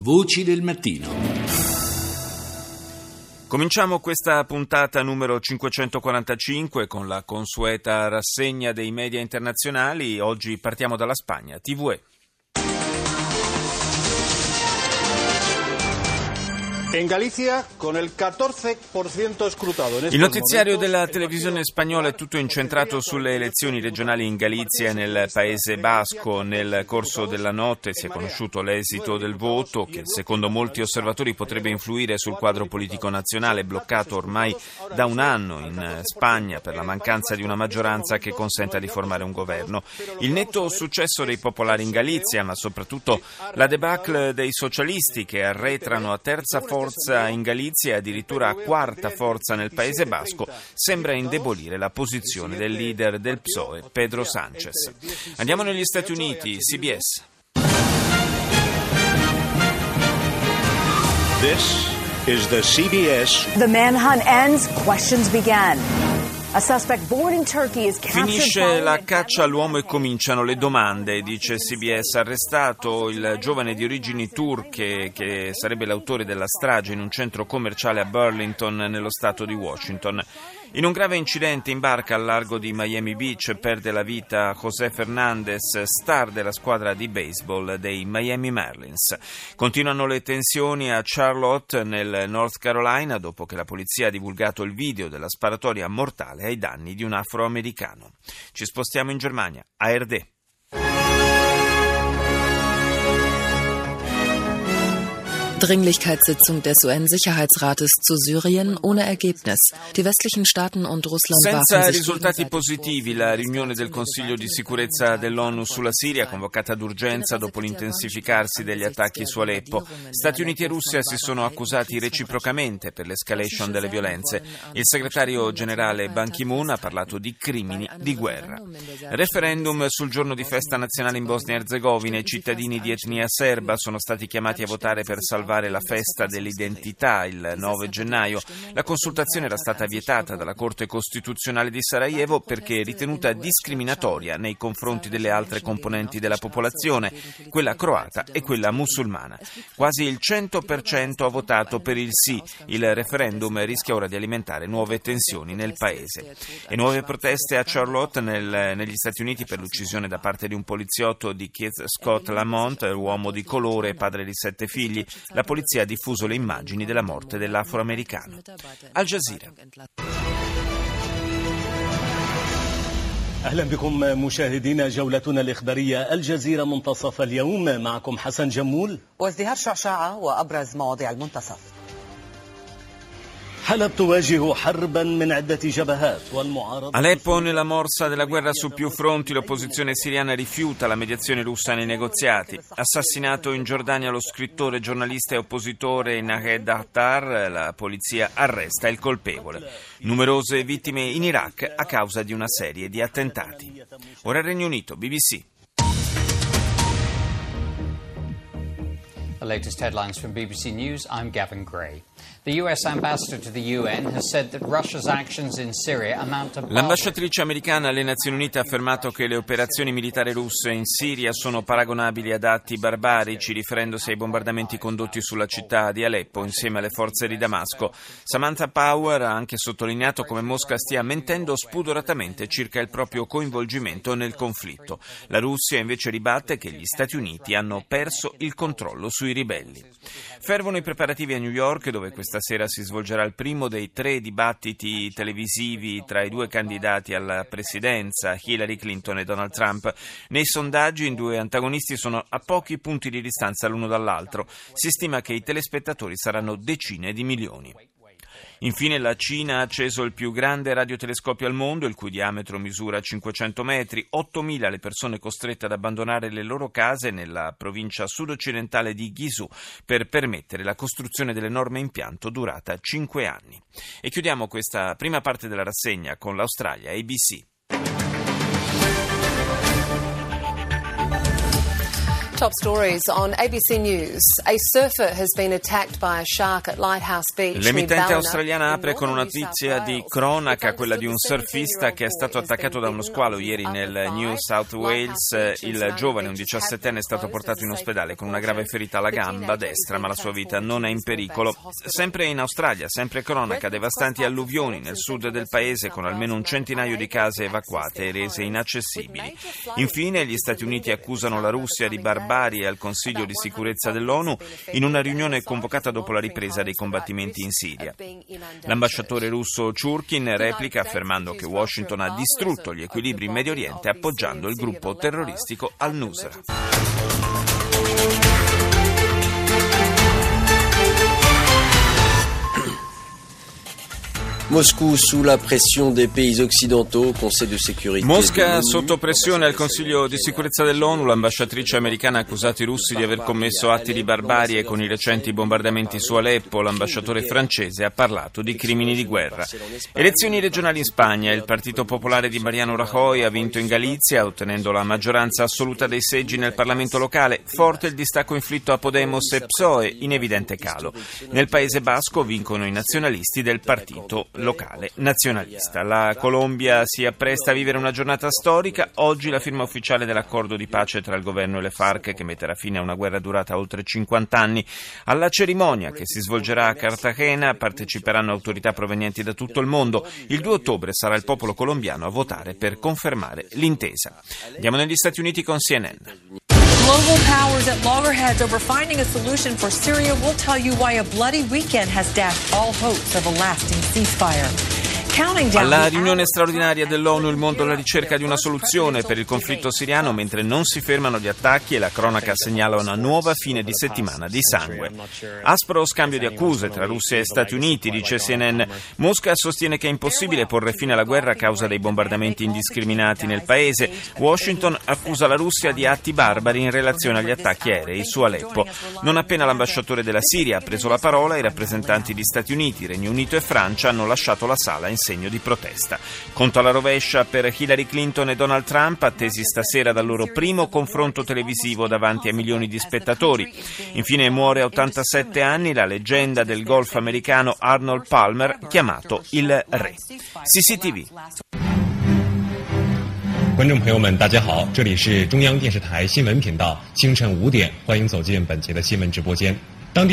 Voci del mattino. Cominciamo questa puntata numero 545 con la consueta rassegna dei media internazionali. Oggi partiamo dalla Spagna. TVE. In Galicia, con il 14% scrutato. Il notiziario della televisione spagnola è tutto incentrato sulle elezioni regionali in Galizia e nel Paese Basco. Nel corso della notte si è conosciuto l'esito del voto, che secondo molti osservatori potrebbe influire sul quadro politico nazionale, bloccato ormai da un anno in Spagna per la mancanza di una maggioranza che consenta di formare un governo. Il netto successo dei popolari in Galizia, ma soprattutto la debacle dei socialisti, che arretrano a terza forza in Galizia e addirittura a quarta forza nel Paese Basco, sembra indebolire la posizione del leader del PSOE, Pedro Sánchez. Andiamo negli Stati Uniti, CBS. This is the CBS. The manhunt ends, questions begin. Finisce la caccia all'uomo e cominciano le domande, dice CBS. Arrestato il giovane di origini turche che sarebbe l'autore della strage in un centro commerciale a Burlington, nello stato di Washington. In un grave incidente in barca al largo di Miami Beach perde la vita José Fernández, star della squadra di baseball dei Miami Marlins. Continuano le tensioni a Charlotte, nel North Carolina, dopo che la polizia ha divulgato il video della sparatoria mortale ai danni di un afroamericano. Ci spostiamo in Germania, ARD. Dringlichkeitssitzung des UN-Sicherheitsrates zu Syrien ohne Ergebnis. Die westlichen Staaten und Russland Senza warfen sich risultati positivi, la riunione del Consiglio di sicurezza dell'ONU sulla Siria, convocata d'urgenza dopo l'intensificarsi degli attacchi su Aleppo. Stati Uniti e Russia si sono accusati reciprocamente per l'escalation delle violenze. Il segretario generale Ban Ki-moon ha parlato di crimini di guerra. Referendum sul giorno di festa nazionale in Bosnia e Erzegovina. I cittadini di etnia serba sono stati chiamati a votare per salvare la festa dell'identità il 9 gennaio. La consultazione era stata vietata dalla Corte Costituzionale di Sarajevo perché ritenuta discriminatoria nei confronti delle altre componenti della popolazione, quella croata e quella musulmana. Quasi il 100% ha votato per il sì. Il referendum rischia ora di alimentare nuove tensioni nel paese. E nuove proteste a Charlotte, negli Stati Uniti, per l'uccisione da parte di un poliziotto di Keith Scott Lamont, uomo di colore e padre di 7 figli. La polizia ha diffuso le immagini della morte dell'afroamericano. Al Jazeera. أهلا بكم مشاهدينا جولتنا الإخبارية الجزيرة منتصف اليوم معكم حسن جمول وازدهار شعشاعة وأبرز مواضيع المنتصف. Aleppo nella morsa della guerra su più fronti, l'opposizione siriana rifiuta la mediazione russa nei negoziati. Assassinato in Giordania lo scrittore, giornalista e oppositore Nahed Attar, la polizia arresta il colpevole. Numerose vittime in Iraq a causa di una serie di attentati. Ora il Regno Unito, BBC. The latest headlines from BBC News, I'm Gavin Gray. The US ambassador to the UN has said that Russia's actions in Syria amount to... L'ambasciatrice americana alle Nazioni Unite ha affermato che le operazioni militari russe in Siria sono paragonabili ad atti barbarici, riferendosi ai bombardamenti condotti sulla città di Aleppo insieme alle forze di Damasco. Samantha Power ha anche sottolineato come Mosca stia mentendo spudoratamente circa il proprio coinvolgimento nel conflitto. La Russia invece ribatte che gli Stati Uniti hanno perso il controllo sui ribelli. Fervono i preparativi a New York, dove questa sera si svolgerà il primo dei 3 dibattiti televisivi tra i 2 candidati alla presidenza, Hillary Clinton e Donald Trump. Nei sondaggi i 2 antagonisti sono a pochi punti di distanza l'uno dall'altro. Si stima che i telespettatori saranno decine di milioni. Infine la Cina ha acceso il più grande radiotelescopio al mondo, il cui diametro misura 500 metri, 8.000 le persone costrette ad abbandonare le loro case nella provincia sud-occidentale di Guizhou per permettere la costruzione dell'enorme impianto durata 5 anni. E chiudiamo questa prima parte della rassegna con l'Australia, ABC. Top stories on ABC News. A surfer has been attacked by a shark at Lighthouse Beach. L'emittente australiana apre con una notizia di cronaca, quella di un surfista che è stato attaccato da uno squalo ieri nel New South Wales. Il giovane, un 17enne, è stato portato in ospedale con una grave ferita alla gamba destra, ma la sua vita non è in pericolo. Sempre in Australia, sempre cronaca, devastanti alluvioni nel sud del paese con almeno un centinaio di case evacuate e rese inaccessibili. Infine, gli Stati Uniti accusano la Russia di barbarie al Consiglio di sicurezza dell'ONU in una riunione convocata dopo la ripresa dei combattimenti in Siria. L'ambasciatore russo Churkin replica affermando che Washington ha distrutto gli equilibri in Medio Oriente appoggiando il gruppo terroristico Al-Nusra. Mosca sous la pression des pays occidentaux, Conseil de sécurité. Mosca sotto pressione al Consiglio di sicurezza dell'ONU. L'ambasciatrice americana ha accusato i russi di aver commesso atti di barbarie con i recenti bombardamenti su Aleppo. L'ambasciatore francese ha parlato di crimini di guerra. Elezioni regionali in Spagna. Il Partito Popolare di Mariano Rajoy ha vinto in Galizia, ottenendo la maggioranza assoluta dei seggi nel Parlamento locale. Forte il distacco inflitto a Podemos e PSOE, in evidente calo. Nel Paese Basco vincono i nazionalisti del partito locale nazionalista. La Colombia si appresta a vivere una giornata storica. Oggi la firma ufficiale dell'accordo di pace tra il governo e le FARC, che metterà fine a una guerra durata oltre 50 anni. Alla cerimonia, che si svolgerà a Cartagena, parteciperanno autorità provenienti da tutto il mondo. Il 2 ottobre sarà il popolo colombiano a votare per confermare l'intesa. Andiamo negli Stati Uniti con CNN. Global powers at loggerheads over finding a solution for Syria. We'll tell you why a bloody weekend has dashed all hopes of a lasting ceasefire. Alla riunione straordinaria dell'ONU, il mondo alla ricerca di una soluzione per il conflitto siriano, mentre non si fermano gli attacchi e la cronaca segnala una nuova fine di settimana di sangue. Aspro scambio di accuse tra Russia e Stati Uniti, dice CNN. Mosca sostiene che è impossibile porre fine alla guerra a causa dei bombardamenti indiscriminati nel paese. Washington accusa la Russia di atti barbari in relazione agli attacchi aerei su Aleppo. Non appena l'ambasciatore della Siria ha preso la parola, i rappresentanti di Stati Uniti, Regno Unito e Francia hanno lasciato la sala in segno di protesta. Conto alla rovescia per Hillary Clinton e Donald Trump, attesi stasera dal loro primo confronto televisivo davanti a milioni di spettatori. Infine muore a 87 anni la leggenda del golf americano Arnold Palmer, chiamato il Re. CCTV. 观众朋友们，大家好，这里是中央电视台新闻频道，清晨5点，欢迎走进本节的新闻直播间。 La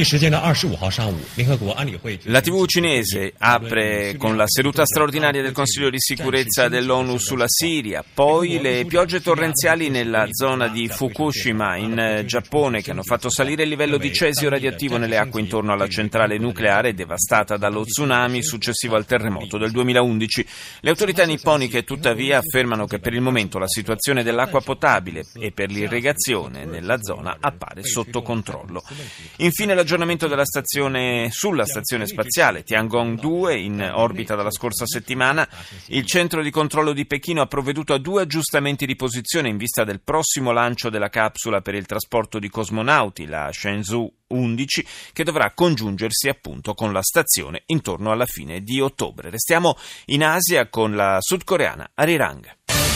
TV cinese apre con la seduta straordinaria del Consiglio di sicurezza dell'ONU sulla Siria, poi le piogge torrenziali nella zona di Fukushima in Giappone che hanno fatto salire il livello di cesio radioattivo nelle acque intorno alla centrale nucleare devastata dallo tsunami successivo al terremoto del 2011. Le autorità nipponiche tuttavia affermano che per il momento la situazione dell'acqua potabile e per l'irrigazione nella zona appare sotto controllo. Infine l'aggiornamento sulla stazione spaziale Tiangong-2 in orbita dalla scorsa settimana. Il centro di controllo di Pechino ha provveduto a 2 aggiustamenti di posizione in vista del prossimo lancio della capsula per il trasporto di cosmonauti, la Shenzhou 11, che dovrà congiungersi appunto con la stazione intorno alla fine di ottobre. Restiamo in Asia con la sudcoreana Arirang.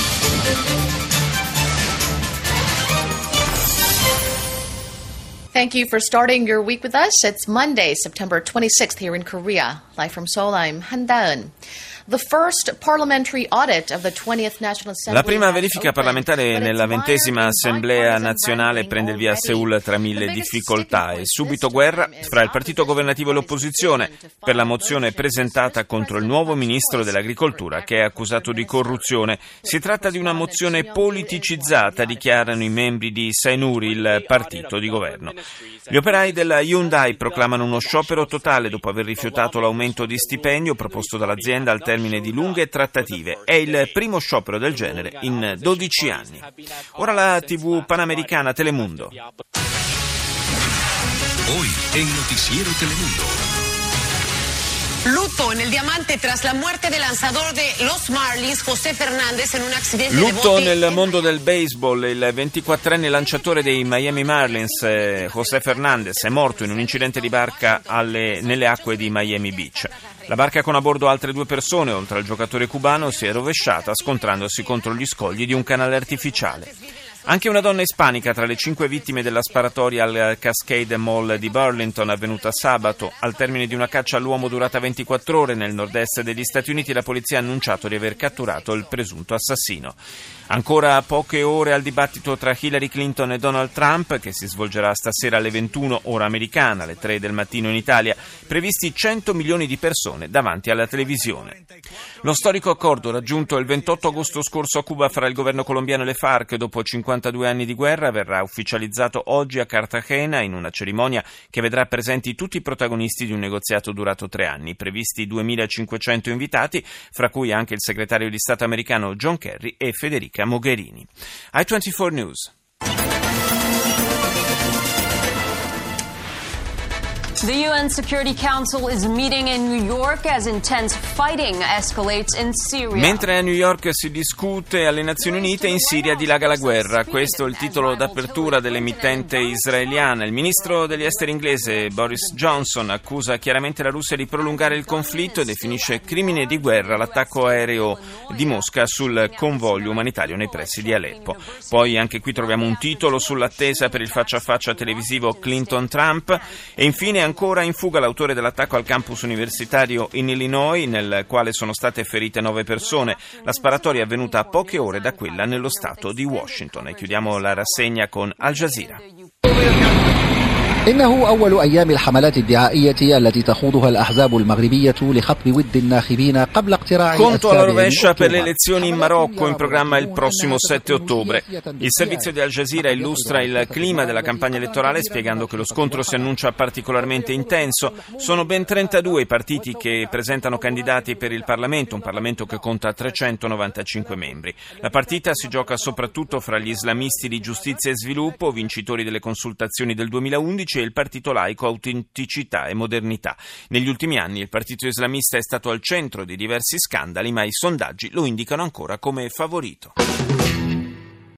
Thank you for starting your week with us. It's Monday, September 26th here in Korea. Live from Seoul, I'm Han Da-eun. La prima verifica parlamentare nella 20ª Assemblea nazionale prende il via a Seul tra mille difficoltà e subito guerra fra il partito governativo e l'opposizione per la mozione presentata contro il nuovo ministro dell'agricoltura che è accusato di corruzione. Si tratta di una mozione politicizzata, dichiarano i membri di Saenuri, il partito di governo. Gli operai della Hyundai proclamano uno sciopero totale dopo aver rifiutato l'aumento di stipendio proposto dall'azienda al termine di lunghe trattative. È il primo sciopero del genere in 12 anni. Ora la TV panamericana Telemundo. Hoy en Noticiero Telemundo. Luto en el diamante tras la muerte del lanzador de los Marlins, José Fernández, en un accidente Lutto nel mondo del baseball. Il 24enne lanciatore dei Miami Marlins, José Fernández, è morto in un incidente di barca nelle acque di Miami Beach. La barca con a bordo altre 2 persone, oltre al giocatore cubano, si è rovesciata scontrandosi contro gli scogli di un canale artificiale. Anche una donna ispanica tra le 5 vittime della sparatoria al Cascade Mall di Burlington avvenuta sabato. Al termine di una caccia all'uomo durata 24 ore nel nord-est degli Stati Uniti, la polizia ha annunciato di aver catturato il presunto assassino. Ancora poche ore al dibattito tra Hillary Clinton e Donald Trump, che si svolgerà stasera alle 21 ora americana, alle 3 del mattino in Italia, previsti 100 milioni di persone davanti alla televisione. Lo storico accordo raggiunto il 28 agosto scorso a Cuba fra il governo colombiano e le FARC dopo 52 anni di guerra verrà ufficializzato oggi a Cartagena in una cerimonia che vedrà presenti tutti i protagonisti di un negoziato durato 3 anni, previsti 2.500 invitati, fra cui anche il segretario di Stato americano John Kerry e Federica Mogherini. I24 News. The UN Security Council is meeting in New York as intense fighting escalates in Syria. Mentre a New York si discute alle Nazioni Unite, in Siria dilaga la guerra. Questo è il titolo d'apertura dell'emittente israeliana. Il ministro degli esteri inglese Boris Johnson accusa chiaramente la Russia di prolungare il conflitto e definisce crimine di guerra l'attacco aereo di Mosca sul convoglio umanitario nei pressi di Aleppo. Poi anche qui troviamo un titolo sull'attesa per il faccia a faccia televisivo Clinton-Trump e infine ancora in fuga l'autore dell'attacco al campus universitario in Illinois, nel quale sono state ferite 9 persone. La sparatoria è avvenuta a poche ore da quella nello stato di Washington. E chiudiamo la rassegna con Al Jazeera. إنه أول أيام الحملات الدعائية التي تخوضها الأحزاب المغربية لخطب ود الناخبين قبل اقتراع Conto alla rovescia per le elezioni in Marocco, in programma il prossimo 7 ottobre. Il servizio di Al Jazeera illustra il clima della campagna elettorale spiegando che lo scontro si annuncia particolarmente intenso. Sono ben 32 i partiti che presentano candidati per il Parlamento, un Parlamento che conta 395 membri. La partita si gioca soprattutto fra gli islamisti di Giustizia e Sviluppo, vincitori delle consultazioni del 2011, e il partito laico Autenticità e Modernità. Negli ultimi anni il partito islamista è stato al centro di diversi scandali, ma i sondaggi lo indicano ancora come favorito.